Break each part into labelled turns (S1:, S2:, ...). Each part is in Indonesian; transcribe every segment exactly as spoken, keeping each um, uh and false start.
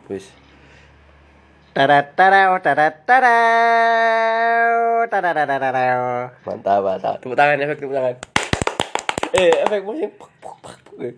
S1: Wis.
S2: Tarataraw, tarataraw, tarataraw.
S1: Mantap, mantap. Tepuk tangan, efek tepuk tangan. Eh, efek musik. Puk, puk, puk, puk.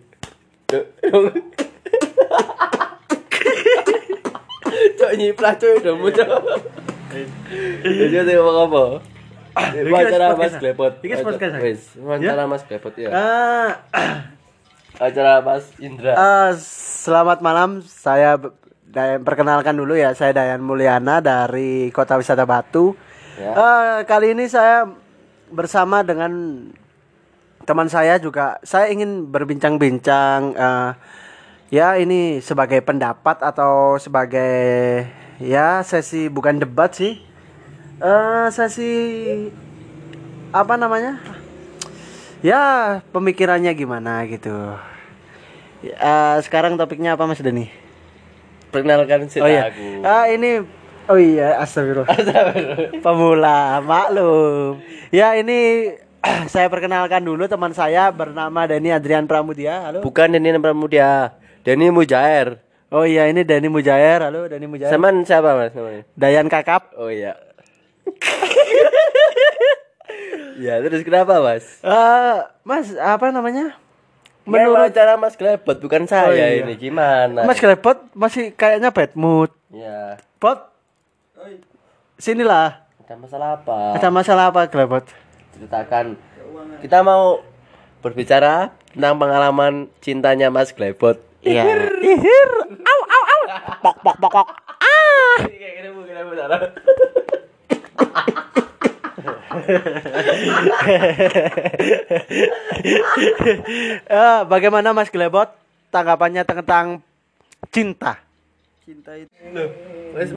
S1: Cok nyiplah cok domu cok. Jadi ada apa? Wawancara Mas Klepot.
S2: Iki podcast.
S1: Wis, wawancara Mas Klepot ya.
S2: Ah,
S1: Acara Mas Indra.
S2: ah, selamat malam. Saya b- Dayan, perkenalkan dulu ya. Saya Dayan Mulyana dari Kota Wisata Batu.
S1: Ya.
S2: Ah, kali ini saya bersama dengan teman saya juga. Saya ingin berbincang-bincang. ah, ya ini sebagai pendapat atau sebagai ya sesi bukan debat sih. Eh sesi apa namanya? Ya pemikirannya gimana gitu. Eh, sekarang topiknya apa Mas Deni?
S1: Perkenalkan cerita
S2: Oh iya.
S1: aku.
S2: Ah ini oh iya astagfirullah. Pemula maklum. Ya ini saya perkenalkan dulu teman saya bernama Deni Adrian Pramudia. Halo.
S1: Bukan Deni Pramudia, Deni Mujair.
S2: Oh iya ini Deni Mujair. Halo Deni Mujair.
S1: Saman siapa Mas namanya?
S2: Dayan Kakap.
S1: Oh iya. Ya, terus kenapa, Mas?
S2: Eh Mas apa namanya?
S1: Menurut
S2: Menurut
S1: cara Mas Glebot bukan saya
S2: Oh, iya.
S1: ini gimana?
S2: Mas Klepot masih kayaknya bad mood.
S1: Ya,
S2: Pot. Sinilah.
S1: ada masalah apa?
S2: Ada masalah apa Klepot?
S1: Ceritakan. Kita mau berbicara tentang pengalaman cintanya Mas Glebot.
S2: Iya. Ihir. Au au au. Pok pok pok pok. Eh, bagaimana Mas Glebot tanggapannya tentang cinta?
S1: Cinta itu.